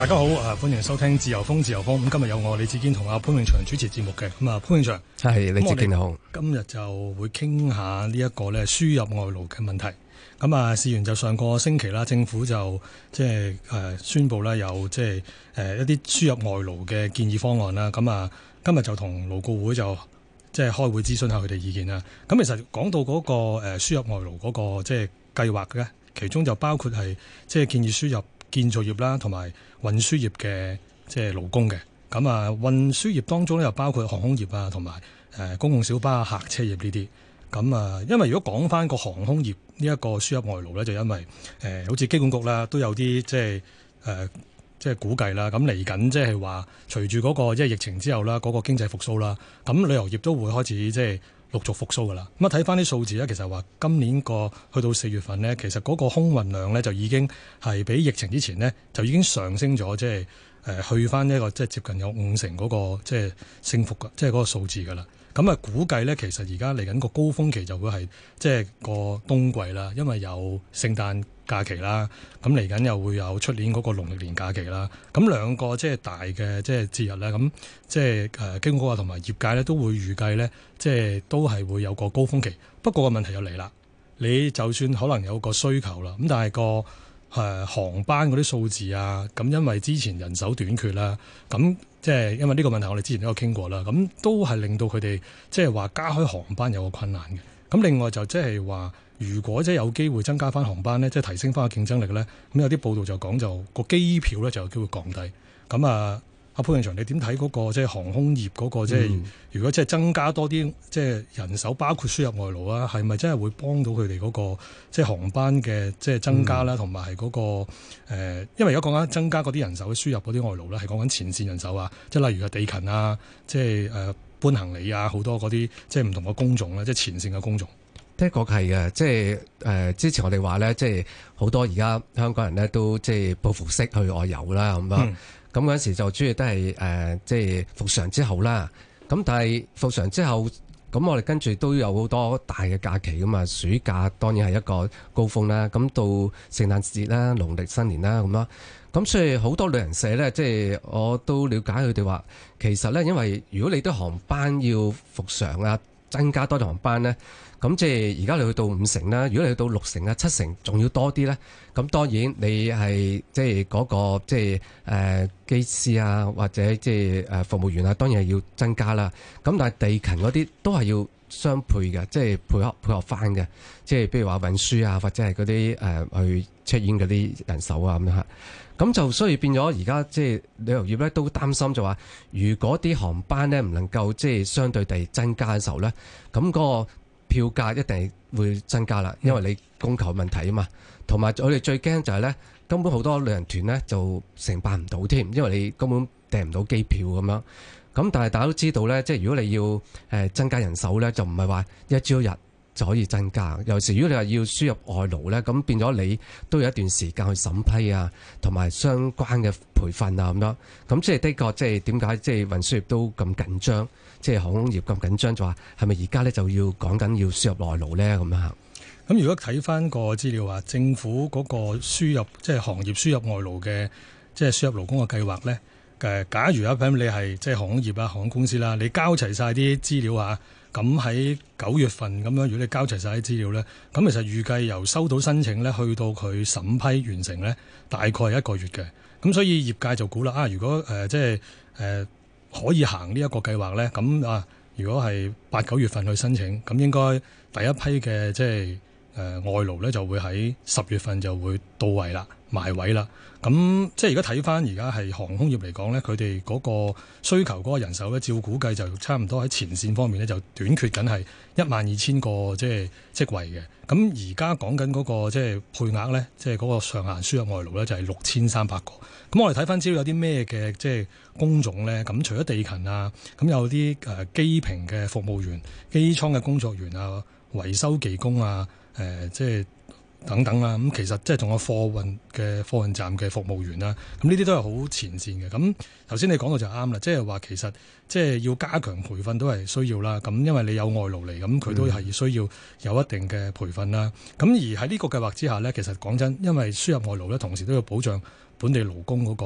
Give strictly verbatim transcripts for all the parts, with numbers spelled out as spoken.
大家好，啊歡迎收聽自由風自由風。咁今日有我李志堅同阿潘永祥主持節目嘅。咁啊潘永祥， 係李志堅好。 今日就會傾下呢一個咧輸入外勞嘅問題。咁啊，事緣就上個星期啦，政府就即係誒宣布咧有即係誒一啲輸入外勞嘅建議方案啦。咁啊，今日就同勞顧會就即係開會諮詢下佢哋意見啦。咁其實講到嗰個誒輸入外勞嗰個即係計劃嘅，其中就包括係即係建議輸入建造業啦，同埋運輸業嘅即係勞工嘅。咁啊，運輸業當中咧又包括航空業啊，同埋誒公共小巴、客車業呢啲。咁啊，因為如果講翻個航空業呢一個輸入外勞咧，就因為誒、呃、好似機管局啦，都有啲即係誒即係估計啦。咁嚟緊即係話，隨住嗰個即係疫情之後啦，嗰、嗰個經濟復甦啦，咁旅遊業都會開始即係陸續復甦噶啦。咁啊，睇翻啲數字咧，其實話今年個去到四月份呢，其實嗰個空運量咧就已經係比疫情之前呢，就已經上升咗，即係誒去翻一個即係接近有五成嗰個即係升幅嘅，即係嗰個數字噶啦。咁啊，估計咧，其實而家嚟緊個高峰期就會係即係個冬季啦，因為有聖誕假期啦，咁嚟緊又會有出年嗰個農曆年假期啦。咁兩個即係大嘅即係節日咧，咁即係誒經過啊同埋業界咧都會預計咧，即係都係會有個高峰期。不過個問題又嚟啦，你就算可能有個需求啦，咁但係個誒航班嗰啲數字啊，咁因為之前人手短缺啦，咁即係因為呢個問題我哋之前都有傾過啦，咁都係令到佢哋即係話加開航班有個困難嘅。咁另外就即係話，如果即係有機會增加翻航班咧，即係提升翻個競爭力咧，咁有啲報道就講就個機票咧就有機會降低。咁啊，阿潘永祥，你點睇嗰個即係航空業嗰個即係如果即係增加多啲即係人手，包括輸入外勞啊，係咪真係會幫到佢哋嗰個即係航班嘅即係增加啦，同埋係嗰個誒？因為而家講緊增加嗰啲人手輸入嗰啲外勞咧，係講緊前線人手啊，即係例如係地勤啊，即係誒搬行李啊，好多嗰啲即係唔同嘅工種咧，即係前線嘅工種。 的確係嘅，即係誒、呃、之前我哋話咧，即係好多而家香港人咧都即係報復式去外遊啦咁樣。咁嗰陣時就主要都係誒、呃、即係復常之後啦。咁但係復常之後，咁我哋跟住都有好多大嘅假期噶嘛。暑假當然係一個高峰啦。咁到聖誕節啦、農曆新年啦咁樣。咁所以好多旅行社咧，即係我都了解佢哋話，其實咧因為如果你啲航班要復常啊，增加多啲航班咧。咁即係而家你去到五成啦，如果你去到六成啊、七成，仲要多啲咧，咁當然你係即係嗰個即係誒機師啊，或者即係誒服務員啊，當然係要增加啦。咁但係地勤嗰啲都係要相配嘅，即係配合配合翻嘅。即係譬如話運輸啊，或者係嗰啲誒去 check in 嗰啲人手啊咁樣嚇。咁就所以變咗而家即係旅遊業咧都擔心就話，如果啲航班咧唔能夠即係相對地增加嘅時候咧，咁嗰個票價一定會增加啦，因為你供求問題啊嘛。同埋我哋最驚就係咧，根本好多旅行團咧就承辦唔到添，因為你根本訂唔到機票咁樣。咁但係大家都知道咧，即係如果你要誒增加人手咧，就唔係話一朝一日就可以增加。尤其是如果你話要輸入外勞咧，咁變咗你都有一段時間去審批啊，同埋相關嘅培訓啊咁樣。咁即係的確，即係點解即係運輸業都咁緊張？即係航空業咁緊張，就話係咪而家咧就要講緊要輸入外勞咧咁樣？ 咁如果睇翻個資料話，政府嗰個輸入即係、就是、行業輸入外勞嘅即係輸入勞工嘅計劃咧，誒，假如啊，譬如你係即係航空業啊、航空公司啦，你交齊晒啲資料啊，咁喺九月份咁樣，如果你交齊晒啲資料咧，咁其實預計由收到申請咧，去到佢審批完成咧，大概係一個月嘅。咁所以業界就估啦，啊，如果誒、呃、即係誒。呃可以行呢一個計劃咧，咁啊，如果係八九月份去申請，咁應該第一批嘅即係誒外勞咧，就會喺十月份就會到位啦，埋位啦。咁即係而家睇翻而家係航空業嚟講咧，佢哋嗰個需求嗰個人手咧，照估計就差唔多喺前線方面咧，就短缺緊係一萬二千個即係職位嘅。咁而家講緊嗰個即係配額咧，即係嗰個上限輸入外勞咧，就係六千三百個。咁我哋睇翻資料有啲咩嘅即係工種咧？咁除咗地勤啊，咁有啲誒機坪嘅服務員、機艙嘅工作員啊、維修技工啊，誒、呃、即係。等等啦，咁其實即係仲有貨運嘅貨運站嘅服務員啦，咁呢啲都係好前線嘅。咁頭先你講到就啱啦，即係話其實即係要加強培訓都係需要啦。咁因為你有外勞嚟，咁佢都係需要有一定嘅培訓啦。咁、嗯、而喺呢個計劃之下呢，其實講真，因為輸入外勞呢，同時都要保障本地勞工嗰個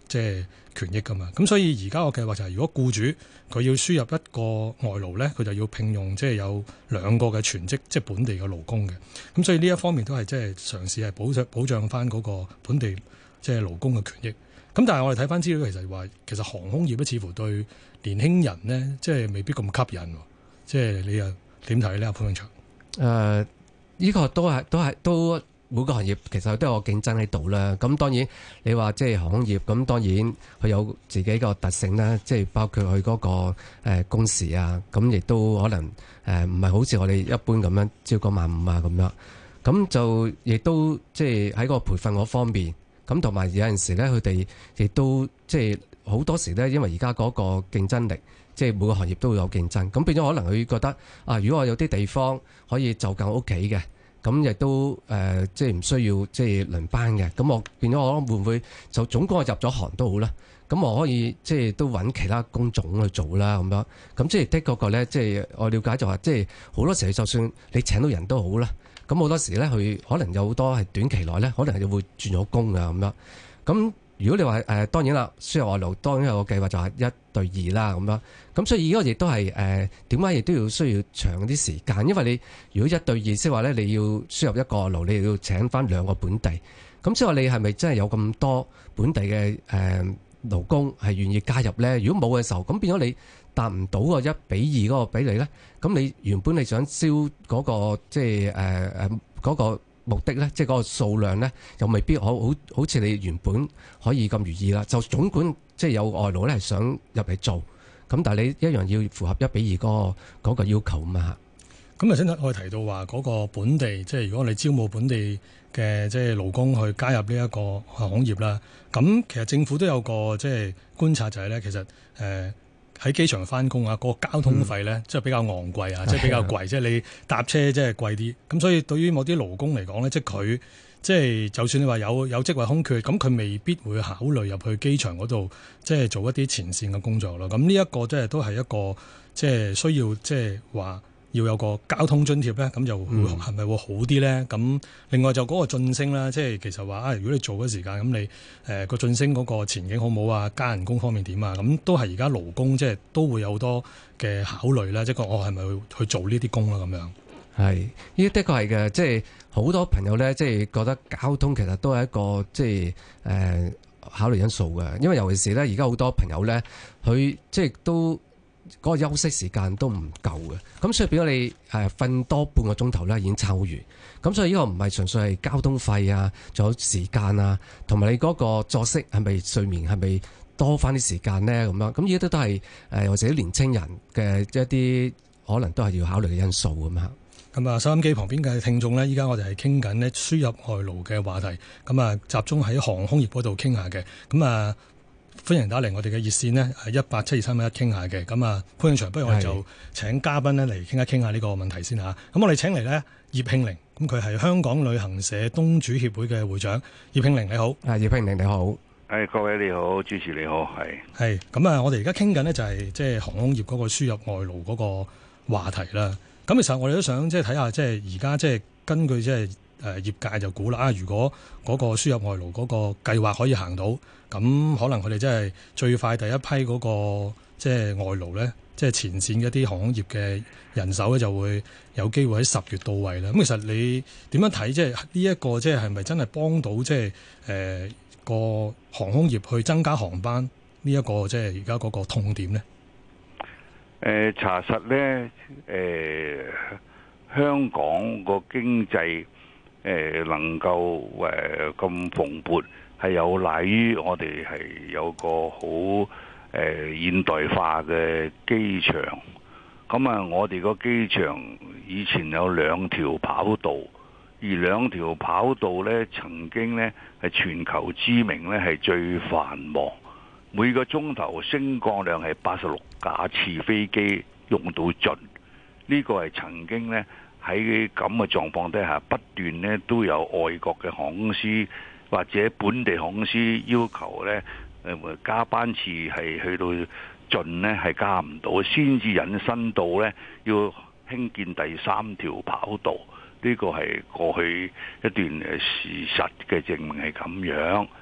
即係權益噶嘛。咁所以而家個計劃就係，如果僱主佢要輸入一個外勞咧，佢就要聘用即係有兩個嘅全職即係本地嘅勞工嘅。咁所以呢一方面都係即係嘗試係保障保障翻嗰個本地即係勞工嘅權益。咁但係我哋睇翻資料，其實話其實航空業咧似乎對年輕人呢，即係未必咁吸引。即係你又點睇呢？阿潘永祥？誒、 呃，呢、這個都係都係都每個行業其實都有個競爭喺度啦。咁當然你話即係航空業，咁當然佢有自己個特性啦，即係包括佢嗰個誒工時啊，咁亦都可能誒唔係好似我哋一般咁樣朝九晚五啊咁樣。咁就亦都即係喺個培訓嗰方面。咁同埋有陣時咧，佢哋亦都即係好多時咧，因為而家嗰個競爭力，即係每個行業都會有競爭，咁變咗可能佢覺得啊，如果我有啲地方可以就近屋企嘅，咁亦都誒、呃、即係唔需要即係輪班嘅，咁我變咗我會唔會就總共我入咗行都好啦，咁我可以即係都揾其他工種去做啦咁樣，咁即係的確個咧，即係我了解就話，即係好多時就算你請到人都好啦。咁好多時咧，佢可能有好多係短期內咧，可能係會轉咗工啊咁樣。咁如果你話誒、呃，當然啦，輸入外勞當然有個計劃就係一對二啦咁樣。咁所以呢個亦都係誒點解亦都要需要長啲時間，因為你如果一對二，即係話咧，你要輸入一個外勞，你要請翻兩個本地。咁即係話你係咪真係有咁多本地嘅誒勞工係願意加入咧？如果冇嘅時候，咁變咗你達唔到個一比二嗰個比例咧，咁你原本你想招嗰個即係誒誒嗰個目的咧，即係嗰個數量咧，又未必好好好似你原本可以咁如意啦。就總管即係有外勞咧係想入嚟做，咁但係你一樣要符合一比二嗰個嗰個要求啊嘛。 咁啊，先我哋提到話嗰個本地，即係如果你招募本地嘅即係勞工去加入呢一個航空業啦，咁其實政府都有個即係觀察就係咧，其實誒。呃喺機場翻工啊，嗰個交通費咧，嗯、即係比較昂貴啊，即係比較貴，即係你搭車即係貴啲。咁所以對於某啲勞工嚟講咧，即係佢即係就算你話有有職位空缺，咁佢未必會考慮入去機場嗰度，即係做一啲前線嘅工作咯。咁呢一個即係都係一個即係需要即係話要有個交通津貼咧，咁就會係咪會好啲咧？咁、嗯、另外就嗰個晉升啦，即係其實話啊，如果你做嘅時間咁，你誒個晉升嗰個前景好唔好啊？加人工方面點啊？咁都係而家勞工即係都會有好多嘅考慮啦。即係我係咪去去做呢啲工啦？咁樣係呢啲的確係嘅，即係好多朋友咧，即係覺得交通其實都係一個即係誒、呃、考慮因素嘅，因為尤其是咧而家好多朋友咧，佢即係都。嗰個休息時間都唔夠嘅，咁所以變咗你誒瞓多半個鐘頭咧已經抽完，咁所以呢個唔係純粹係交通費啊，仲有時間啊，同埋你嗰個作息係咪睡眠係咪多翻啲時間咧咁樣，咁呢啲都係誒或者年青人嘅一啲可能都係要考慮嘅因素咁樣。 咁啊，收音機旁邊嘅聽眾咧，依家我哋係傾緊咧輸入外勞嘅話題，咁啊集中喺航空業嗰度傾下嘅，咁啊。歡迎打嚟我哋嘅熱線呢，係一八七二三一一傾下嘅。咁啊，潘永祥，不如我哋就請嘉賓呢嚟傾一傾下呢個問題先嚇。咁我哋請嚟呢葉慶玲，咁佢係香港旅行社東主協會嘅會長。葉慶玲你好， 啊葉慶玲你好， 係各位你好，主持你好，係係咁啊！我哋而家傾緊呢就係即係航空業嗰個輸入外勞嗰個話題啦。咁其實我哋都想即係睇下，即係而家即係根據即係誒業界就估啦啊，如果嗰個輸入外勞嗰個計劃可以行到。咁可能佢哋真係最快第一批嗰、那個即係外勞咧，即係前線嘅一啲航空業嘅人手咧，就會有機會喺十月到位啦。咁其實你點樣睇？即係呢一個即係係咪真係幫到即係誒個航空業去增加航班呢、這、一個即係而家嗰個痛點咧？ 誒、呃、查實咧，誒、呃、香港個經濟誒、呃、能夠誒咁蓬勃。係有賴於我哋係有個好誒、呃、現代化嘅機場，咁啊，我哋個機場以前有兩條跑道，而兩條跑道呢曾經呢係全球知名呢係最繁忙，每個鐘頭升降量係八十六架次飛機用到盡，呢、這個係曾經呢喺咁嘅狀況底下不斷呢都有外國嘅航空公司。或者本地航空公司要求咧，誒加班次係去到盡咧，係加唔到，先至引申到咧要興建第三條跑道。呢個係過去一段誒事實嘅證明係咁樣。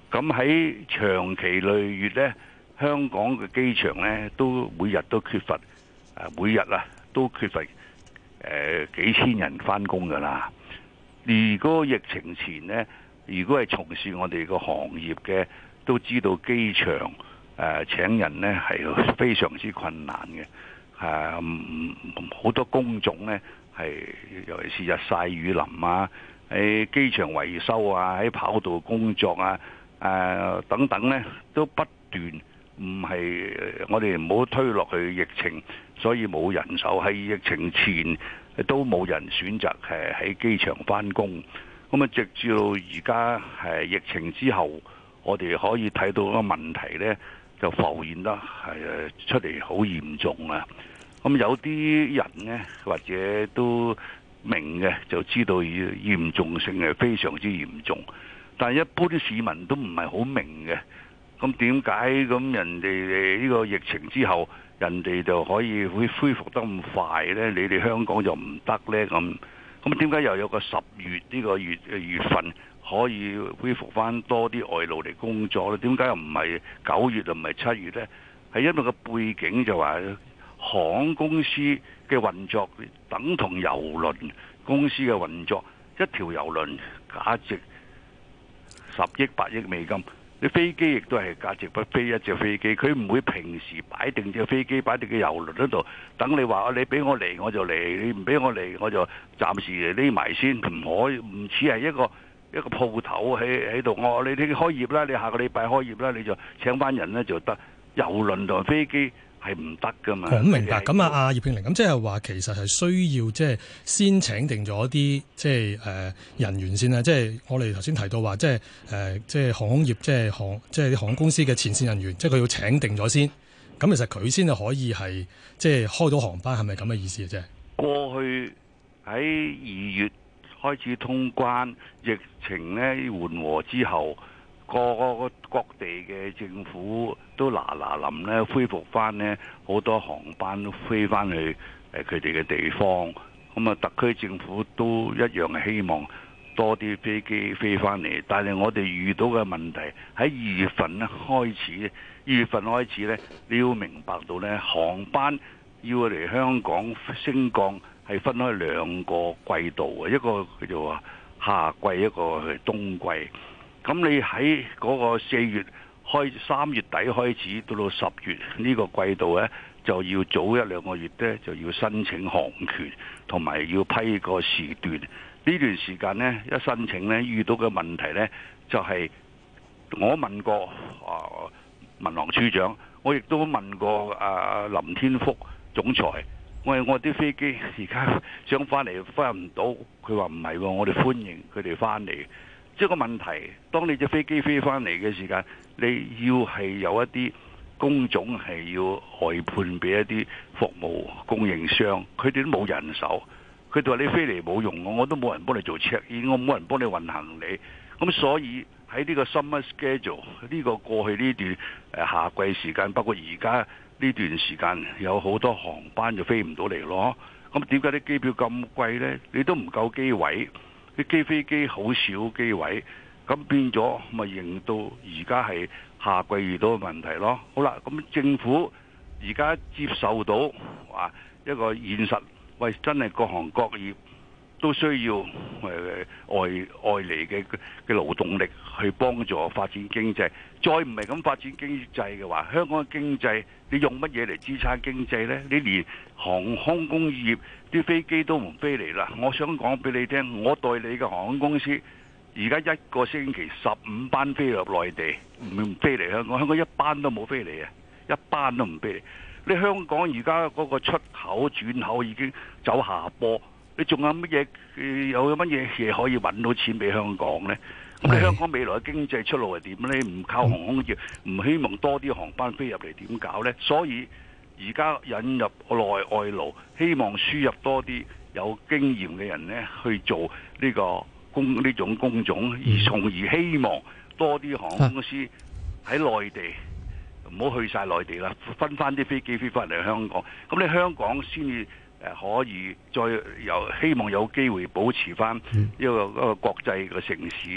咁喺長期累月呢，香港嘅機場呢都每日都缺乏，每日啊都缺乏誒、呃、幾千人返工㗎啦。如果疫情前呢，如果係從事我哋個行業嘅，都知道機場誒、呃、請人呢係非常之困難嘅。誒、啊、好多工種呢係尤其是日曬雨淋啊，喺機場維修啊，喺跑道工作啊，誒、啊、等等呢都不斷，唔係我哋唔好推落去疫情，所以冇人手。喺疫情前都冇人選擇誒喺機場返工。咁啊，直至到而家係疫情之後，我哋可以睇到個問題呢就浮現得係出嚟好嚴重啊！咁有啲人呢，或者都明嘅，就知道嚴重性係非常之嚴重，但係一般市民都唔係好明嘅。咁點解咁人哋呢個疫情之後，人哋就可以會恢復得咁快呢？你哋香港就唔得呢？咁咁點解又有個十月呢個月月份可以恢復翻多啲外勞嚟工作呢？點解又唔係九月又唔係七月呢？係因為個背景就話航空公司嘅運作等同郵輪公司嘅運作，一條郵輪價值十億八億美金。你飛機亦都係價值不菲一隻飛機，佢唔會平時擺定隻飛機擺定嘅郵輪嗰度等你話，你俾我嚟我就嚟，你唔俾我嚟我就暫時匿埋先，唔可以唔似係一個一個鋪頭喺喺度。我你你開業啦，你下個禮拜開業啦，你就請翻人咧就得。郵輪同飛機係唔得噶嘛？ 好明白。咁啊，阿葉慶齡，咁即係話其實係需要即係先請定咗啲即係誒人員先啦。即係我哋頭先提到話，即係誒即係航空業，即係航即係航空公司嘅前線人員，即係佢要請定咗先。咁其實佢先就可以係即係開到航班，係咪咁嘅意思啊？即係過去喺二月開始通關，疫情咧緩和之後，個個各地嘅政府都嗱嗱臨咧恢復翻咧，好多航班都飛翻去誒佢哋嘅地方。咁啊，特區政府都一樣係希望多啲飛機飛翻嚟。但係我哋遇到嘅問題喺二月份咧開始，二月份開始咧，你要明白到咧，航班要嚟香港升降係分開兩個季度嘅，一個叫做話夏季，一個係冬季。咁你喺嗰個四月開三月底開始到到十月呢個季度呢，就要早一兩個月呢，就要申請航權，同埋要批個時段。呢段時間呢，一申請呢，遇到嘅問題呢，就係、是、我問過啊民航處長，我亦都問過啊林天福總裁，我話我啲飛機而家想翻嚟翻唔到，佢話唔係喎，我哋歡迎佢哋翻嚟。即係個問題，當你隻飛機飛翻嚟嘅時間，你要係有一啲工種係要外判俾一啲服務供應商，佢哋都冇人手。佢哋話你飛嚟冇用，我我都冇人幫你做 check in， 我冇人幫你運行李。咁所以喺呢個 summer schedule 呢個過去呢段誒夏季時間，包括而家呢段時間，有好多航班就飛唔到嚟咯。咁點解啲機票咁貴呢？你都唔夠機位。啲機飛機好少機位，咁變咗咪認到而家係夏季遇到嘅問題咯。好啦，咁政府而家接受到話一個現實，喂，真係各行各業都需要誒外外嚟嘅嘅勞動力去幫助發展經濟。再唔係咁發展經濟嘅話，香港嘅經濟你用乜嘢嚟支撐經濟呢？你連航空工業啲飛機都唔飛嚟啦！我想講俾你聽，我代理嘅航空公司而家一個星期十五班飛入內地，唔飛嚟香港，香港一班都冇飛嚟啊！一班都唔飛嚟。你香港而家嗰個出口轉口已經走下坡，你仲有乜嘢？有乜嘢嘢可以揾到錢俾香港呢？咁你香港未來嘅經濟出路係點呢？唔靠航空業，唔希望多啲航班飛入嚟，點搞呢？所以而家引入內外勞，希望輸入多啲有經驗嘅人呢去做呢個工呢種工種，而從而希望多啲航空公司喺內地，唔好去晒內地啦，分翻啲飛機飛翻嚟香港。咁你香港先至誒可以再有希望有機會保持翻一個一個國際嘅城市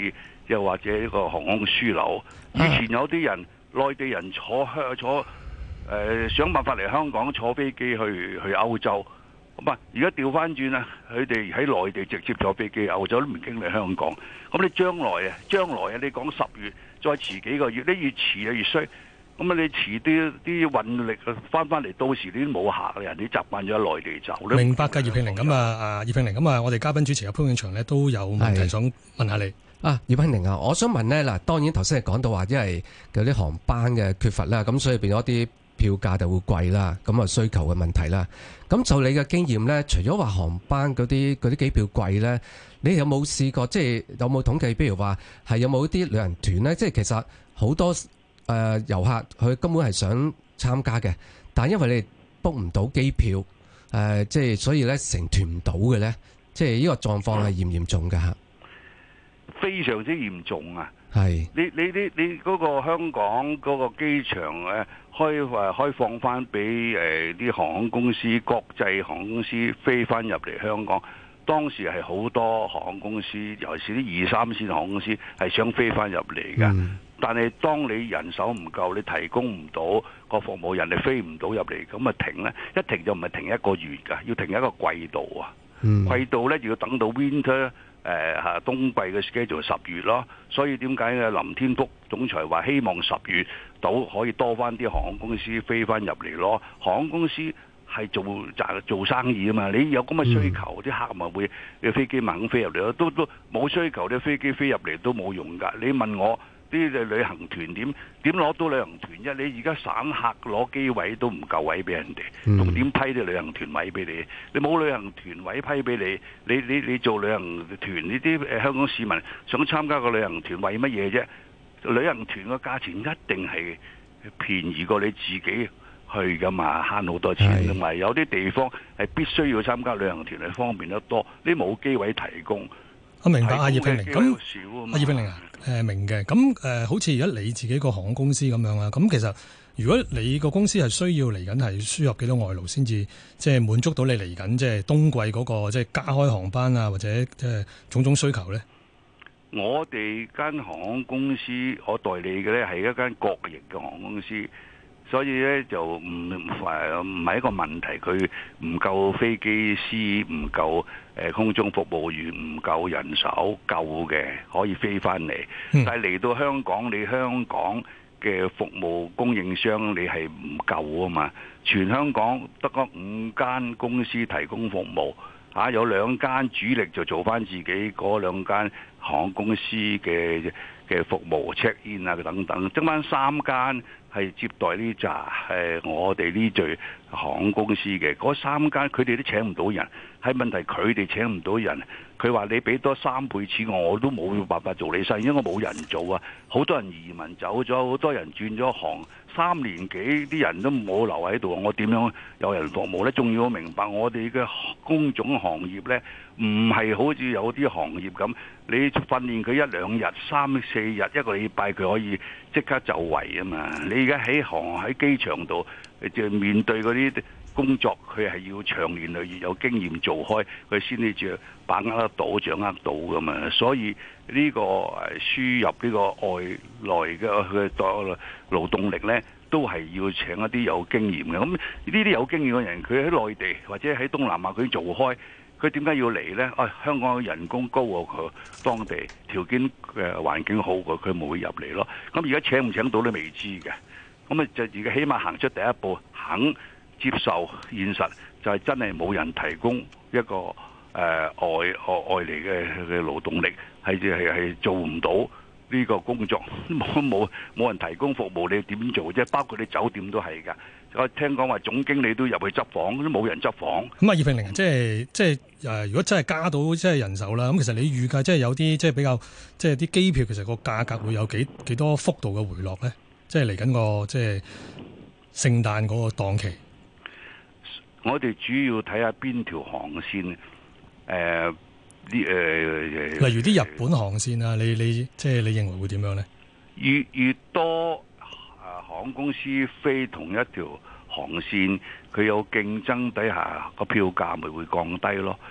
又或者呢個航空樞紐。以前有啲人內地人坐香坐誒、呃、想辦法嚟香港坐飛機去去歐洲。咁啊，而家調翻轉啦，佢哋喺內地直接坐飛機，歐洲都唔經嚟香港。咁你將來啊，將來啊，你講十月再遲幾個月，你越遲啊越衰。咁啊，你遲啲啲運力翻翻嚟，到時你都冇客，人哋習慣咗喺內地走。 明白㗎，葉慶玲。咁啊，啊葉慶玲，咁啊，我哋嘉賓主持嘅潘永祥呢都有問題想問下你。 啊，葉慶玲啊，我想問呢，嗱，當然頭先係講到話，因為有啲航班嘅缺乏啦，咁所以變咗啲票價就會貴啦，咁啊需求嘅問題啦。咁就你嘅經驗咧，除咗話航班嗰啲嗰啲機票貴咧，你有冇試過即係有冇統計？譬如話係有冇啲旅行團咧？即係其實好多誒遊客佢根本係想參加嘅，但係因為你 book 唔到機票，誒即係所以咧成團唔到嘅咧，即係呢個狀況係嚴唔嚴重㗎嚇？ 非常之嚴重啊！ 係你你你你嗰個香港嗰個機場誒開誒開放翻俾誒啲航空公司、國際航空公司飛翻入嚟香港，當時係好多航空公司，尤其是啲二三線航空公司係想飛翻入嚟㗎。嗯、但係當你人手唔夠，你提供唔到個服務，人哋飛唔到入嚟，咁啊停咧，一停就唔係停一個月㗎，要停一個季度啊。嗯、季度咧要等到 winter。誒嚇冬季嘅 schedule 十月咯，所以點解咧林天福總裁話希望十月到可以多翻啲航空公司飛翻入嚟咯？航空公司係做賺做生意啊嘛，你有咁嘅需求，啲、嗯、客咪會嘅飛機猛飛入嚟咯。都都冇需求，啲飛機飛入嚟都冇用㗎。你問我啲旅行團點點攞到旅行團啫？你而家省客攞機位都唔夠位俾人哋，仲點批啲旅行團位俾你？你冇旅行團位批俾你，你你你做旅行團呢啲誒香港市民想參加個旅行團為乜嘢啫？旅行團個價錢一定係便宜過你自己去噶嘛，慳好多錢，同埋有啲地方係必須要參加旅行團係方便得多，你冇機位提供。 我明白啊，葉慶玲。咁啊，葉慶玲啊，誒明嘅。咁誒、呃，好似而家你自己個航空公司咁樣啊。咁其實如果你個公司係需要嚟緊係輸入幾多外勞先至，即係滿足到你嚟緊即係冬季嗰、那個即係加開航班啊，或者即係種種需求咧？ 我哋間航空公司，我代理嘅咧係一間國營嘅航空公司。所以咧就唔唔係唔係一個問題，佢唔夠飛機師，唔夠誒空中服務員，唔夠人手夠嘅可以飛翻嚟。嗯、但係嚟到香港，你香港嘅服務供應商你係唔夠啊嘛？全香港得嗰五間公司提供服務，嚇、啊、有兩間主力就做翻自己嗰兩間航空公司嘅嘅服務 check in 啊等等，剩翻三間係接待呢扎係我哋呢隊航空公司嘅嗰三間，佢哋都請唔到人。係問題佢哋請唔到人，佢話你俾多三倍錢我，我都冇辦法做你生意，因為我冇人做啊。好多人移民走咗，好多人轉咗行，三年幾啲人都冇留喺度，我點樣有人服務呢？仲要明白我哋嘅工種行業呢，唔係好似有啲行業咁，你訓練佢一兩日、三四日、一個禮拜，佢可以即刻就位啊嘛。你而家喺航喺機場度就面對嗰啲工作，佢係要長年累月有經驗做開，佢先至著把握得到、掌握到噶嘛。所以呢個誒輸入呢個外來嘅嘅勞動力呢，都係要請一啲有經驗嘅。咁呢啲有經驗嘅人，佢喺內地或者喺東南亞佢做開，佢點解要嚟呢？啊，香港人工高過佢當地，條件嘅環境好過佢，冇會入嚟咯。咁而家請唔請到都未知嘅。咁啊，就而家起碼行出第一步，肯接受現實，就係真係冇人提供一個誒、呃、外外外嚟嘅嘅勞動力，係係係做唔到呢個工作，冇冇冇人提供服務，你點做啫？包括你酒店都係㗎。我聽講話總經理都入去執房，都冇人執房。 咁啊，葉慶玲，即係即係誒，如果真係加到即係人手啦，咁其實你預計即係有啲即係比較即係啲機票，其實個價格會有幾幾多幅度嘅回落咧？即係嚟緊個即係聖誕嗰個檔期。 我哋主要睇下邊條航線，誒啲誒， 例如啲日本航線啊，你你即係你認為會點樣咧？ 越越多啊航空公司飛同一條航線，佢有競爭底下個票價咪會降低咯。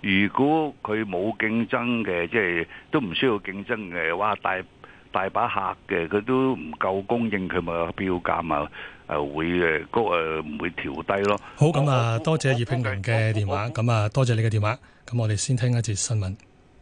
如果佢冇競爭嘅，即係都唔需要競爭嘅，哇大大把客嘅，佢都唔夠供應，佢咪標價啊誒會誒高誒唔會調低咯。 好，咁啊，多謝葉慶麟嘅電話，咁啊多謝你嘅電話，咁我哋先聽一節新聞。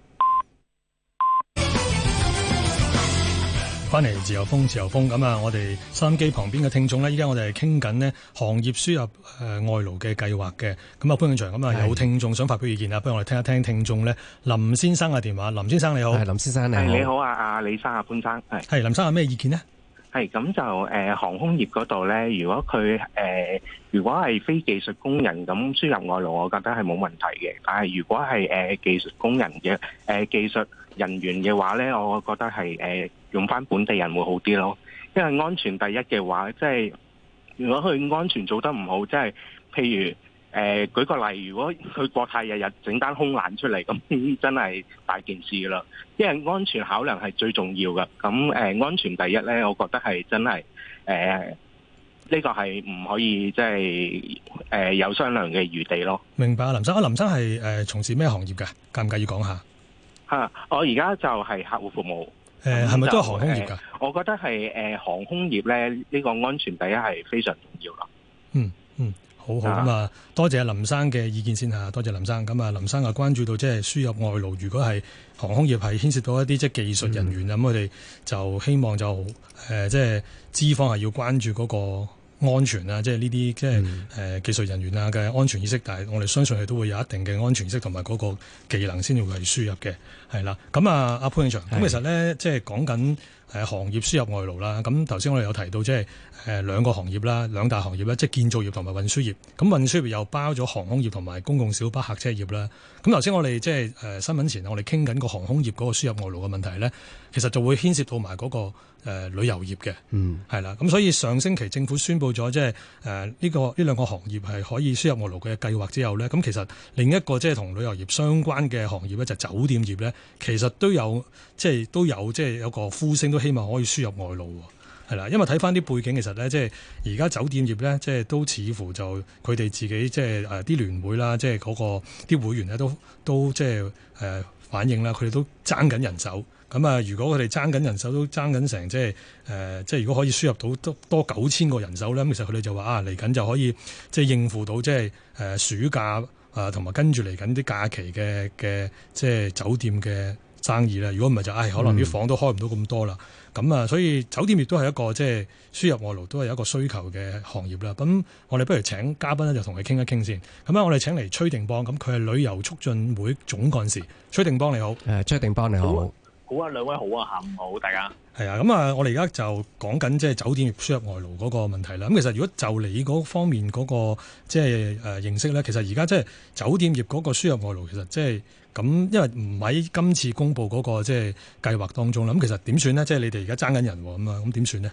翻嚟自由風，自由風咁啊！我哋收音機旁邊嘅聽眾呢，依家我哋係傾緊呢行業輸入誒、呃、外勞嘅計劃嘅。咁啊，潘永祥，咁啊有聽眾想發表意見啊，不如我哋聽一聽聽眾呢林先生嘅電話。林先生你好， 係林先生你好， 你好啊，阿李生啊，潘生係。 係林生有咩意見呢？ 係咁就誒、呃、航空業嗰度咧，如果佢誒、呃、如果係非技術工人咁輸入外勞，我覺得係冇問題嘅。但係如果係誒、呃、技術工人嘅誒、呃、技術人員嘅話咧，我覺得係誒、呃、用翻本地人會好啲咯。因為安全第一嘅話，即係如果佢安全做得唔好，即係譬如。誒、呃、舉個例，如果佢國泰日日整單空難出嚟，咁真係大件事㗎啦。因為安全考量係最重要嘅。咁誒、呃、安全第一咧，我覺得係真係誒呢個係唔可以即係誒有商量嘅餘地咯。 明白，林生啊，林生係誒、呃、從事咩行業嘅？介唔介意講下？ 嚇、啊，我而家就係客戶服務。 誒係咪都係航空業㗎、呃？ 我覺得係誒、呃、航空業咧，呢、這個安全第一係非常重要啦。 嗯嗯。好好咁啊！多謝林生嘅意見先嚇，多謝林生。咁啊，林生啊關注到即係輸入外勞，如果係航空業係牽涉到一啲即係技術人員咁，佢哋、嗯、就希望就誒、呃、即係資方係要關注嗰個安全啊，即係呢啲即係誒、嗯呃、技術人員啊嘅安全意識。但係我哋相信佢都會有一定嘅安全意識同埋嗰個技能先至會係輸入嘅，係啦。咁啊，阿潘永祥，咁其實咧即係講緊誒行業輸入外勞啦。咁頭先我哋有提到即係誒兩個行業啦，兩大行業啦，即係建造業同埋運輸業。咁運輸業又包咗航空業同埋公共小巴客車業啦。咁頭先我哋即係誒新聞前我哋傾緊個航空業嗰個輸入外勞嘅問題咧，其實就會牽涉到埋嗰個誒旅遊業嘅，嗯，係啦。咁所以上星期政府宣布咗即係誒呢個呢兩個行業係可以輸入外勞嘅計劃之後咧，咁其實另一個即係同旅遊業相關嘅行業咧就係酒店業咧，其實都有即係都有即係有個呼聲都希望可以輸入外勞。係啦，因為睇翻啲背景，其實咧，即係而家酒店業咧，即係都似乎就佢哋自己即係誒啲聯會啦，即係嗰個啲會員咧，都都即係誒反映啦，佢哋都爭緊人手。咁啊，如果佢哋爭緊人手，都爭緊成即係誒，即係如果可以輸入到多多九千個人手咧，咁其實佢哋就話啊，嚟緊就可以即係應付到即係誒暑假啊，同埋跟住嚟緊啲假期嘅嘅即係酒店嘅生意啦。如果唔係就唉、哎，可能啲房都開唔到咁多啦。咁啊、嗯，所以酒店亦都係一個即係輸入外勞都係一個需求嘅行業啦。咁我哋不如請嘉賓咧，就同佢傾一傾先。咁啊，我哋請嚟崔定邦，咁佢係旅遊促進會總幹事。崔定邦你好，誒， 崔定邦你好， 好啊，兩位好啊，下午好，大家。 係啊，咁啊，我哋而家就講緊即係酒店業輸入外勞嗰個問題啦。咁其實如果就你嗰方面嗰個即係誒認識咧，其實而家即係酒店業嗰個輸入外勞，其實即係咁，因為唔喺今次公布嗰個即係計劃當中啦。咁其實點算呢？即係你哋而家爭緊人咁啊，咁點算呢？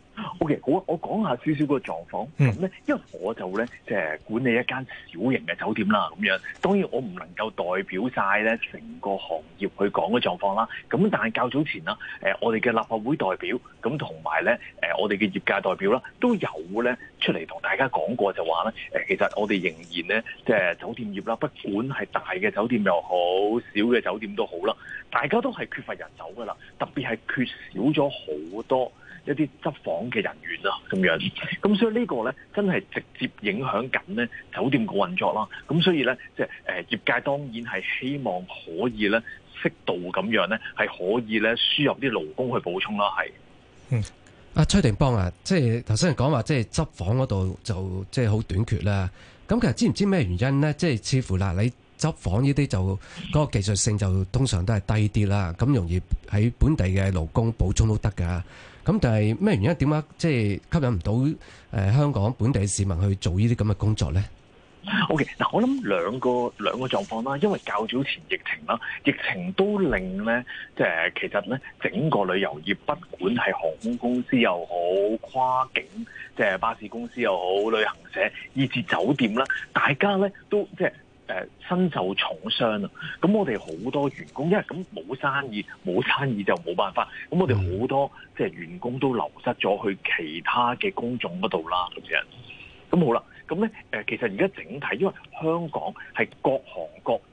O K，好啊，我講下少少個狀況。咁咧、嗯，因為我就咧即係管理一間小型嘅酒店啦，咁樣。當然我唔能夠代表晒咧成個行業去講嘅狀況啦。咁但係較早前啦，誒我哋嘅立法會代表，咁同埋咧誒我哋嘅業界代表啦，都有咧出嚟同大家講過，就話咧誒其實我哋仍然咧即係酒店業啦，不管係大嘅酒店又好，小嘅酒店都好啦，大家都係缺乏人手噶啦，特別係缺少咗好多一啲執房嘅人員啊，咁樣，咁所以呢個咧真係直接影響緊咧酒店個運作啦。咁所以咧，即係誒業界當然係希望可以咧適度咁樣咧，係可以咧輸入啲勞工去補充啦。係， 嗯，阿崔定邦啊，即係頭先講話，即係執房嗰度就即係好短缺啦。咁其實知唔知咩原因咧？即係似乎嗱，你執房呢啲就嗰個技術性就通常都係低啲啦，咁容易喺本地嘅勞工補充都得㗎。咁但係咩原因？點解即係吸引唔到誒香港本地市民去做呢啲咁嘅工作咧 ？O K，嗱，我諗兩個兩個狀況啦，因為較早前疫情啦，疫情都令咧，即係其實咧整個旅遊業，不管係航空公司又好，跨境即係巴士公司又好，旅行社以至酒店啦，大家咧都即係。誒身受重傷啊！咁我哋好多員工，因為咁冇生意，冇生意就冇辦法。咁我哋好多即係員工都流失咗去其他嘅工種嗰度啦，咁樣。咁好啦，咁咧誒，其實而家整體，因為香港係各行各業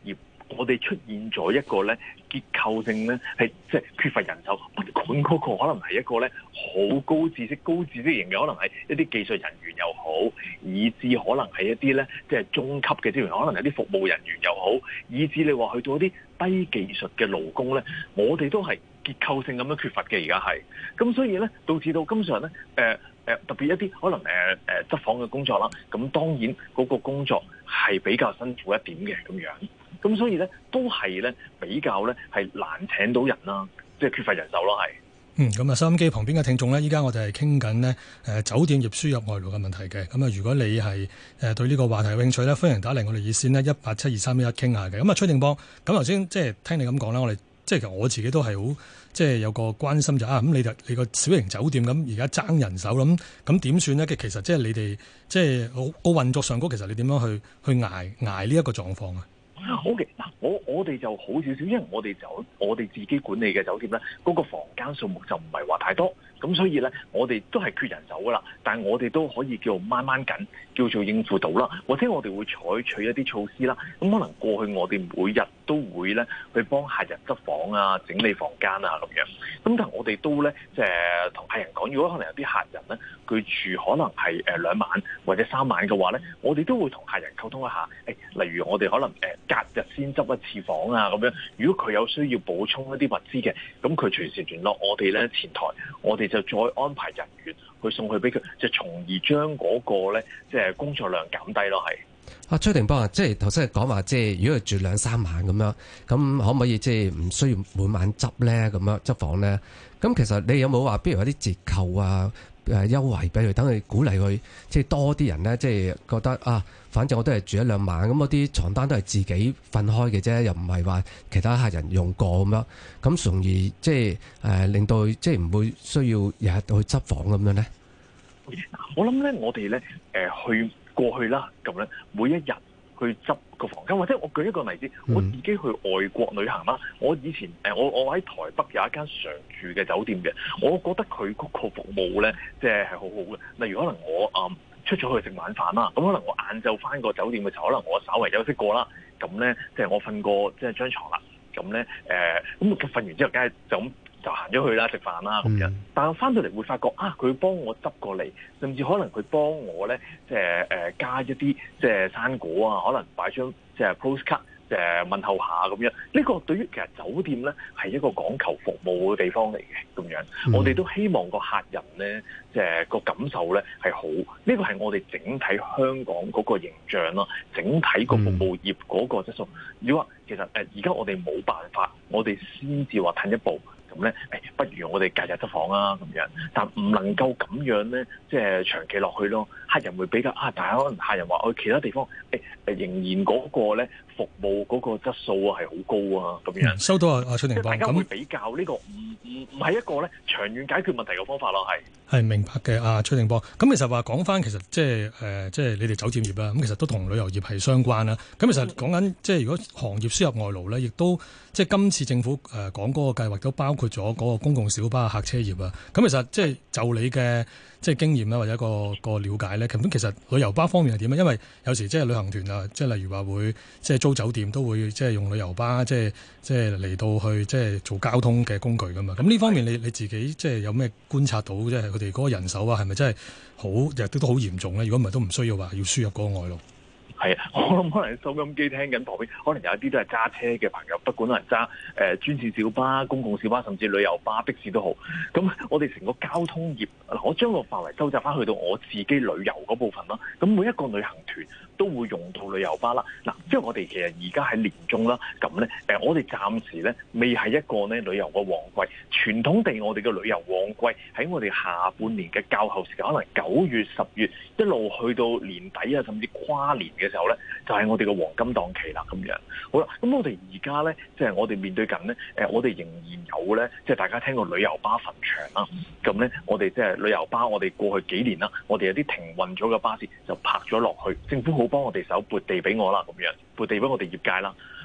我哋出現咗一個咧結構性咧係即係缺乏人手，不管嗰個可能係一個咧好高知識、高知識型嘅，可能係一啲技術人員又好，以至可能係一啲咧即係中級嘅職員，可能係啲服務人員又好，以至你話去到一啲低技術嘅勞工咧，我哋都係結構性咁樣缺乏嘅。而家係咁，所以咧導致到今上咧誒誒特別一啲可能誒誒、呃、執房嘅工作啦，咁當然嗰個工作係比較辛苦一點嘅咁樣，咁所以咧都係咧比較咧係難請到人啦，即係缺乏人手咯係。 嗯，咁啊，收音機旁邊嘅聽眾呢，依家我哋係傾緊呢誒酒店業輸入外勞嘅問題嘅。咁啊，如果你係誒對呢個話題有興趣呢，歡迎打嚟我哋熱線呢，一八七二三一一傾下嘅。咁啊，崔定邦，咁頭先即係聽你咁講啦，我哋即係其實我自己都係好即係有個關心就啊，咁你就你個小型酒店咁而家爭人手咁，咁點算呢？其實即係你哋即係個運作上高，其實你點樣去去捱捱呢一個狀況啊？ 好嘅，嗱，我我哋就好少少，因為我哋就我哋自己管理嘅酒店咧，嗰個房間數目就唔係話太多，咁所以咧，我哋都係缺人手噶啦，但係我哋都可以叫做掹掹緊，叫做應付到啦，或者我哋會採取一啲措施啦，咁可能過去我哋每日都會咧去幫客人執房啊、整理房間啊咁樣，咁但係我哋都咧即係同客人講，如果可能有啲客人咧佢住可能係誒兩晚或者三晚嘅話咧，我哋都會同客人溝通一下，誒，例如我哋可能誒隔日先執一次房啊咁樣，如果佢有需要補充一啲物資嘅，咁佢隨時聯絡我哋咧前台，我哋就再安排人員去送去俾佢，就從而將嗰個咧即係工作量減低咯，係。 啊，崔定邦啊，即係頭先講話，即係如果佢住兩三晚咁樣，咁可唔可以即係唔需要每晚執咧？咁樣執房咧？咁其實你有冇話，比如有啲折扣啊、誒優惠俾佢，等佢鼓勵佢，即係多啲人咧，即係覺得啊，反正我都係住一兩晚，咁嗰啲床單都係自己分開嘅啫，又唔係話其他客人用過咁樣，咁從而即係誒令到即係唔會需要日日去執房咁樣咧。 我諗咧，我哋咧誒去。過去啦，咁咧每一日去執個房間，或者我舉一個例子，我自己去外國旅行啦。我以前誒我我喺台北有一間常住嘅酒店嘅，我覺得佢嗰個服務咧，即係係好好嘅。例如可能我誒、嗯、出咗去食晚飯啦，咁可能我晏晝翻個酒店嘅時候，可能我稍為休息過啦，咁咧即係我瞓過即係張床啦，咁咧誒咁瞓完之後，梗係就咁。就行咗去啦，食飯啦咁樣，但係翻到嚟會發覺啊，佢幫我執過嚟，甚至可能佢幫我咧，即係誒加一啲即係生果啊，可能擺張即係 postcard 誒問候下咁樣。呢個對於其實酒店咧係一個講求服務嘅地方嚟嘅咁樣，嗯、我哋都希望個客人咧即係個感受咧係好。呢個係我哋整體香港嗰個形象咯，整體個服務業嗰個質素。如果話其實誒而家我哋冇辦法，我哋先至話褪一步。咁咧，誒，不如我哋隔日執房啊，咁樣，但唔能夠咁樣咧，即係長期落去咯。客人會比較啊，但係可能客人話去其他地方，誒、欸、誒，仍然嗰個咧服務嗰個質素啊係好高啊，咁樣。 收到啊，阿崔定邦， 大家會比較呢、這個唔唔唔係一個咧長遠解決問題嘅方法咯，係。係明白嘅，阿崔定邦。咁其實話講翻，其實即係誒，即係你哋酒店業啦，咁其實都同旅遊業係相關啦。咁其實講緊即係如果行業輸入外勞咧，亦都即係今次政府誒講嗰個計劃都包括咗嗰個公共小巴客車業啊。咁其實即係就你嘅即係經驗啦，或者一個個了解咧，咁其實旅遊巴方面係點啊？因為有時即係旅行團啊，即係例如話會即係租酒店都會即係用旅遊巴，即係即係嚟到去即係做交通嘅工具噶嘛。咁呢方面你你自己即係有咩觀察到？即係佢哋嗰個人手啊，係咪真係好日都都好嚴重咧？如果唔係都唔需要話要輸入嗰個外勞。係啊，我諗可能收音機聽緊旁邊，可能有一啲都係揸車嘅朋友，不管可能揸誒專線小巴、公共小巴，甚至旅遊巴、的士都好。咁我哋成個交通業，我將個範圍收窄翻去到我自己旅遊嗰部分啦。咁每一個旅行團都會用到旅遊巴啦。嗱，即係我哋其實而家喺年中啦，咁咧誒，我哋暫時咧未係一個咧旅遊嘅旺季。傳統地，我哋嘅旅遊旺季喺我哋下半年嘅較後時間，可能九月、十月一路去到年底啊，甚至跨年嘅時候咧，就係、是、我哋嘅黃金檔期啦。咁樣好啦，咁我哋而家咧，即、就、係、是、我哋面對緊咧，誒，我哋仍然有咧，即、就、係、是、大家聽過旅遊巴墳場啦。咁咧，我哋即係旅遊巴，我哋過去幾年啦，我哋有啲停運咗嘅巴士就泊咗落去，政府好幫我哋手撥地俾我啦，咁樣撥地俾我哋業界啦。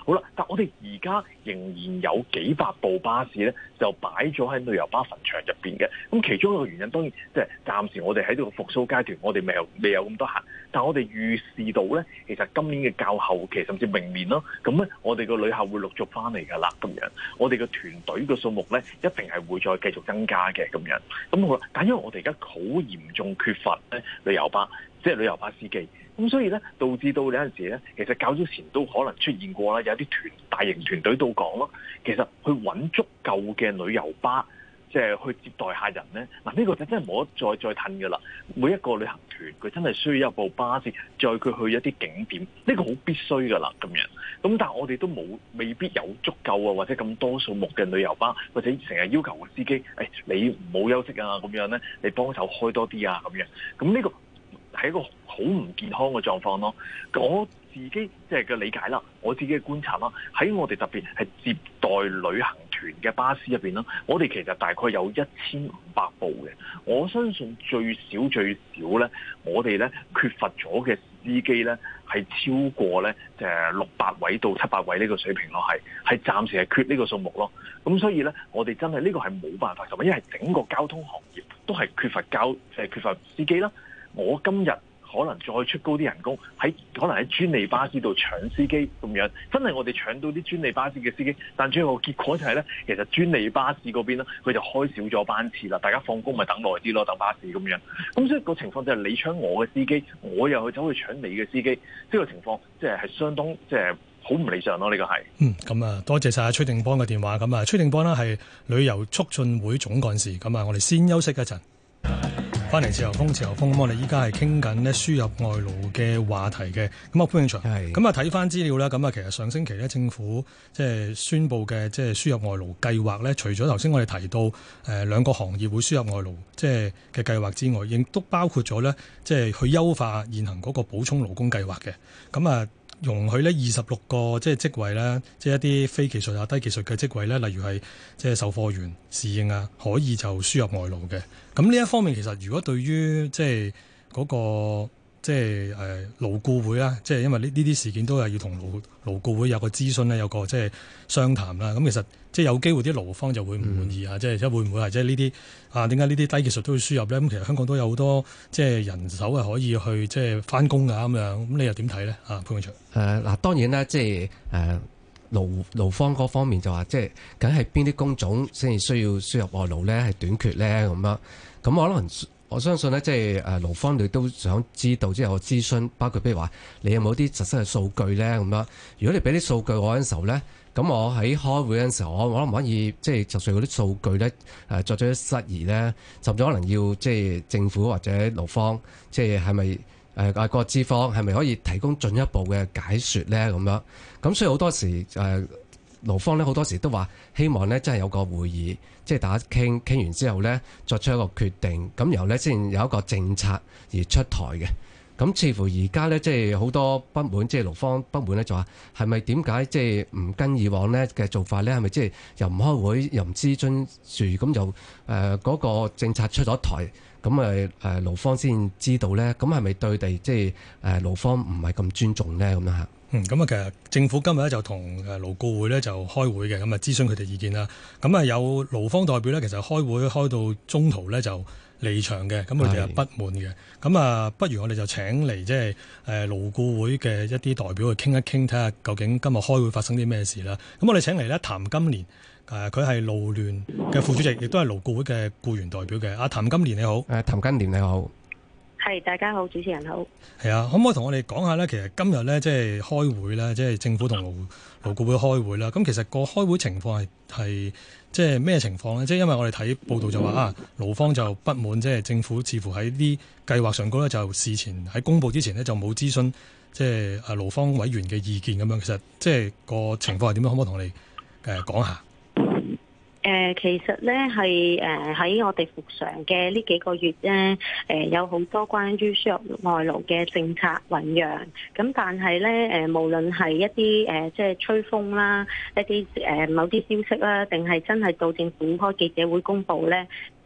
好啦，但我哋而家仍然有幾百部巴士咧，就擺咗喺旅遊巴墳場入邊嘅。咁其中一個原因當然即係暫時我哋喺呢個復甦階段，我哋未有未有咁多客。但我哋預示到咧，其實今年嘅較後期甚至明年咯，咁咧我哋個旅客會陸續翻嚟㗎啦。咁樣我哋嘅團隊嘅數目咧，一定係會再繼續增加嘅咁樣。咁好啦，但因為我哋而家好嚴重缺乏咧旅遊巴，即係旅遊巴司機。咁所以咧，導致到有陣時咧，其實較早前都可能出現過啦，有啲團大型團隊到港咯。其實去揾足夠嘅旅遊巴，即係去接待客人咧。嗱，呢個就真係冇得再再褪㗎啦。每一個旅行團佢真係需要一部巴士載佢去一啲景點，呢個好必須㗎啦咁樣。咁但係我哋都冇未必有足夠啊，或者咁多數目嘅旅遊巴，或者成日要求個司機，誒、哎、你唔好休息啊咁樣咧，你幫手開多啲啊咁樣。咁呢個係一個好唔健康嘅狀況咯。我自己即係嘅理解啦，我自己嘅觀察啦，喺我哋特別係接待旅行團嘅巴士入邊啦，我哋其實大概有一千五百部嘅。我相信最少最少咧，我哋咧缺乏咗嘅司機咧係超過咧就係六百位到七百位呢個水平咯，係係暫時係缺呢個數目咯。咁所以咧，我哋真係呢個係冇辦法做，因為整個交通行業都係缺乏交誒缺乏司機啦。我今日可能再出高啲人工，喺可能喺專利巴士度搶司機咁樣，真係我哋搶到啲專利巴士嘅司機，但最後結果就係咧，其實專利巴士嗰邊咧，佢就開少咗班次啦，大家放工咪等耐啲咯，等巴士咁樣。咁所以個情況就係你搶我嘅司機，我又去走去搶你嘅司機，呢個情況即係係相當即係好唔理想咯。呢個係嗯咁啊，多謝晒崔定邦嘅電話。咁啊，崔定邦呢係旅遊促進會總幹事。咁啊，我哋先休息一陣。翻嚟自由風，自由風咁，我哋依家係傾緊咧輸入外勞嘅話題嘅。咁啊，潘永祥，咁啊睇翻資料啦。咁啊，其實上星期咧，政府即係宣布嘅即係輸入外勞計劃咧，除咗頭先我哋提到誒兩個行業會輸入外勞即係嘅計劃之外，亦都包括咗咧即係去優化現行嗰個補充勞工計劃嘅。咁啊，容許呢二十六個即係職位咧，即係一啲非技術啊、低技術嘅職位咧，例如係即係售貨員、侍應啊，可以就輸入外勞嘅。咁呢一方面其實如果對於即係嗰個即係誒勞顧會啦，即係因為呢呢啲事件都係要同勞勞顧會有個諮詢咧，有個即係商談啦。咁其實即係有機會啲勞方就會唔滿意啊，即係即係會唔會係即係呢啲啊？點解呢啲低技術都要輸入咧？咁其實香港都有好多即係人手係可以去即係翻工㗎咁樣。咁你又點睇咧？啊，潘永祥。誒嗱，當然啦，即係誒勞勞方嗰方面就話，即係梗係邊啲工種先至需要輸入外勞咧？係短缺咧咁樣。咁我可能我相信咧，即係誒勞方你都想知道，即係我諮詢，包括譬如話你有冇啲實質嘅數據咧咁樣。如果你俾啲數據我嗰陣時候咧，咁我喺開會嗰陣時候，我我可唔可以即係就算嗰啲數據咧誒作咗啲質疑咧，甚至可能要即係政府或者勞方，即係係咪誒啊個資方係咪可以提供進一步嘅解説咧咁樣？咁所以好多時誒。呃勞方咧好多時都話希望咧真係有個會議，即係大家傾傾完之後咧作出一個決定，咁然後咧先有一個政策而出台嘅。咁似乎而家咧即係好多不滿，即係勞方不滿咧就話係咪點解即係唔跟以往咧嘅做法咧？係咪即係又唔開會又唔諮詢住，咁就誒嗰個政策出咗台，咁誒誒勞方先知道咧？咁係咪對地即係誒勞方唔係咁尊重咧？咁樣嚇？嗯，咁啊，其實政府今日咧就同誒勞顧會咧就開會嘅，咁啊諮詢佢哋意見啦。咁啊有勞方代表咧，其實開會開到中途咧就離場嘅，咁佢哋係不滿嘅。咁啊，不如我哋就請嚟即係誒勞顧會嘅一啲代表去傾一傾，睇下究竟今日開會發生啲咩事啦。咁我哋請嚟咧譚金蓮，誒佢係勞聯嘅副主席，亦都係勞顧會嘅僱員代表嘅。阿譚金蓮你好。誒譚金蓮你好。 係，大家好，主持人好。 係啊，可唔可以同我哋講下咧？其實今日咧，即係開會咧，即係政府同勞勞顧會開會啦。咁其實個開會情況係係即係咩情況咧？即係因為我哋睇報道就話啊，勞方就不滿，即係政府似乎喺啲計劃上高咧，就事前喺公佈之前呢，就冇諮詢即係啊勞方委員嘅意見咁樣。其實即係個情況係點樣？可唔可以同我哋誒講下？ 誒、呃，其實咧係誒喺我哋復常嘅呢幾個月咧，誒、呃、有好多關於輸入外勞嘅政策醖釀。咁但係咧，誒無論係一啲誒、呃、即係吹風啦，一啲誒、呃、某啲消息啦，定係真係到政府開記者會公佈咧。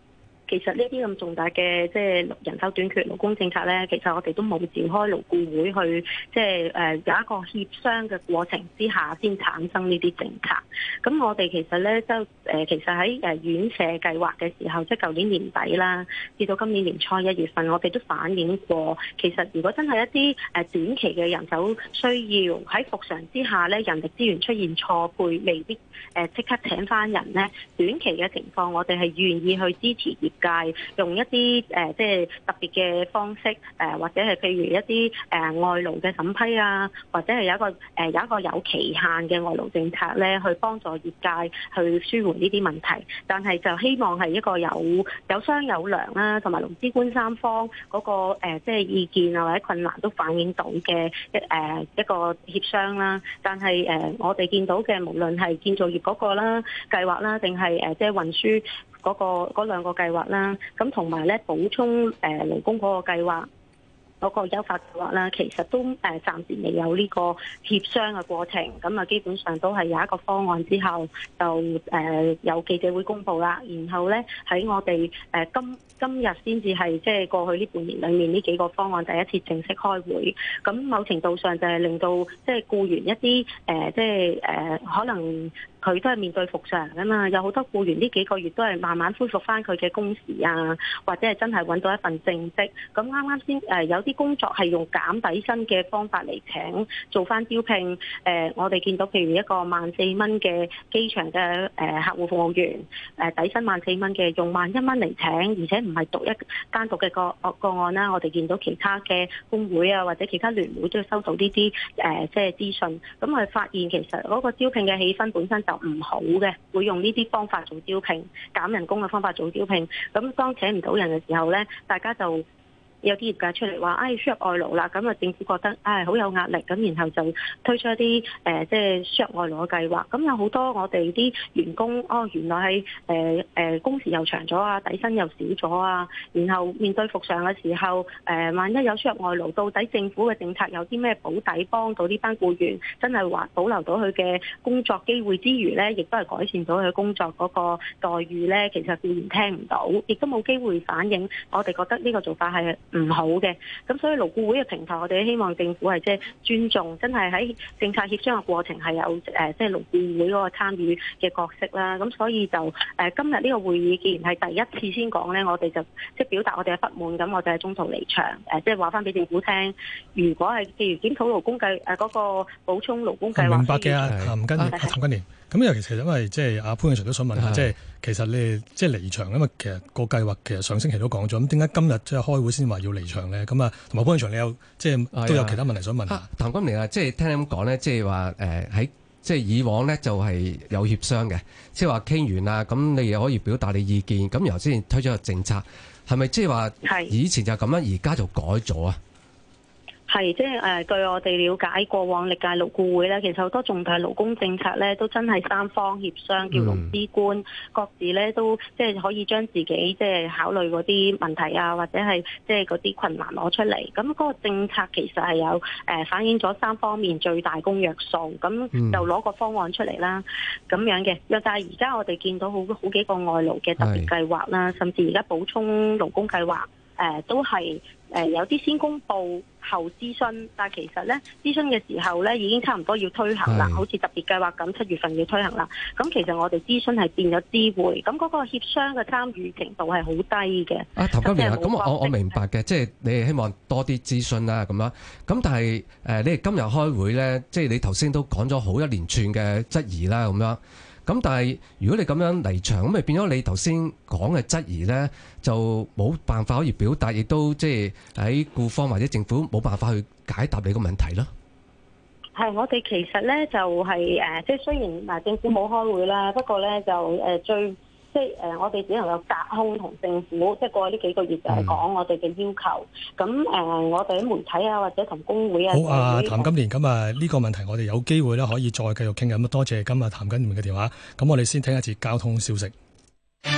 其實呢啲咁重大嘅即係人手短缺、勞工政策咧，其實我哋都冇召開勞顧會去即係誒有一個協商嘅過程之下先產生呢啲政策。咁我哋其實咧就誒其實喺誒院舍計劃嘅時候，即係舊年年底啦，至到今年年初一月份，我哋都反映過，其實如果真係一啲誒短期嘅人手需要喺復常之下咧，人力資源出現錯配，未必誒即刻請翻人咧，短期嘅情況，我哋係願意去支持業界用一啲誒即係特別嘅方式誒，或者係譬如一啲誒外勞嘅審批啊，或者係有一個誒有一個有期限嘅外勞政策咧，去幫助業界去舒緩呢啲問題。但係就希望係一個有有商有量啦，同埋勞資官三方嗰個誒即係意見啊或者困難都反映到嘅一誒一個協商啦。但係誒我哋見到嘅無論係建造業嗰個啦計劃啦，定係誒即係運輸嗰個嗰兩個計劃啦，咁同埋咧補充誒勞工嗰個計劃嗰個優化計劃啦，其實都誒暫時未有呢個協商嘅過程，咁啊基本上都係有一個方案之後就誒有記者會公佈啦，然後咧喺我哋誒今今日先至係即係過去呢半年裡面呢幾個方案第一次正式開會，咁某程度上就係令到即係僱員一啲誒即係誒可能佢都係面對復常啊嘛，有好多僱員呢幾個月都係慢慢恢復翻佢嘅工時啊，或者係真係揾到一份正職，咁啱啱先誒有啲工作係用減底薪嘅方法嚟請做翻招聘，誒、呃、我哋見到譬如一個萬四蚊嘅機場嘅誒、呃、客戶服務員，誒、呃、底薪萬四蚊嘅用萬一蚊嚟請，而且唔係獨一單獨嘅個個案啦，我哋見到其他嘅工會啊或者其他聯會都收到呢啲誒即係資訊，咁我哋發現其實嗰個招聘嘅氣氛本身就唔好嘅，會用呢啲方法做招聘，減人工嘅方法做招聘，咁當請唔到人嘅時候咧，大家就有啲業界出嚟話，唉、哎、輸入外勞啦，咁啊政府覺得唉好、哎、有壓力，咁然後就推出一啲誒、呃、即係輸入外勞嘅計劃。咁有好多我哋啲員工，哦原來係誒誒工時又長咗啊，底薪又少咗啊，然後面對復常嘅時候，誒、呃、萬一有輸入外勞，到底政府嘅政策有啲咩保底幫到呢班僱員，真係話保留到佢嘅工作機會之餘咧，亦都係改善到佢工作嗰個待遇咧？其實僱員聽唔到，亦都冇機會反映。我哋覺得呢個做法係唔好嘅，咁所以勞顧會嘅平台，我哋希望政府係即係尊重，真係喺政策協商嘅過程係有誒，即係勞顧會嗰個參與嘅角色啦。咁所以就誒、呃、今日呢個會議，既然係第一次先講咧，我哋就即係表達我哋嘅不滿，咁我哋係中途離場，誒即係話翻俾政府聽，如果係譬如檢討勞工計誒嗰個補充勞工計劃， 明白嘅啊，譚金蓮，譚金蓮。咁尤其其實因為即係阿潘永祥都想問下，即係其實你即係離場，因為其實個計劃其實上星期都講咗，咁點解今日即係開會先話要離場咧？咁啊，同埋潘永祥你有即係都有其他問題想問下。 譚金蓮啊，即係聽你咁講咧，即係話誒喺即係以往咧就係有協商嘅，即係話傾完啦，咁你又可以表達你意見，咁然後先推出個政策，係咪即係話以前就咁樣，而家就改咗啊？ 係，即係誒，據我哋了解，過往歷屆勞顧會咧，其實好多重大勞工政策咧，都真係三方協商，叫勞資官各自咧都即係可以將自己即係考慮嗰啲問題啊，或者係即係嗰啲困難攞出嚟。咁嗰個政策其實係有誒反映咗三方面最大公約數，咁就攞個方案出嚟啦，咁樣嘅。又但係而家我哋見到好好幾個外勞嘅特別計劃啦，甚至而家補充勞工計劃。誒、呃、都係誒、呃、有啲先公佈後諮詢，但係其實咧諮詢嘅時候咧已經差唔多要推行啦，好似特別計劃咁七月份要推行啦。咁其實我哋諮詢係變咗知會，咁嗰個協商嘅參與程度係好低嘅。 啊，譚金蓮啊，咁我我明白嘅，即係你係希望多啲諮詢啦咁樣。咁但係誒、呃，你哋今日開會咧，即係你頭先都講咗好一連串嘅質疑啦咁樣。咁但係如果你咁樣離場，咁咪變咗你頭先講嘅質疑咧，就冇辦法可以表達，亦都即係喺僱方或者政府冇辦法去解答你個問題咯。 係，我哋其實咧就係、是、誒，即係雖然嗱政府冇開會啦，不過咧就誒最。即係誒，我哋只能夠隔空同政府，即係過去呢幾個月就係講我哋嘅要求。咁誒、呃，我哋喺媒體啊，或者同工會啊， 好啊，譚金蓮，咁啊呢個問題我哋有機會咧可以再繼續傾嘅。咁多謝今日譚金蓮嘅電話。咁我哋先聽一節交通消息。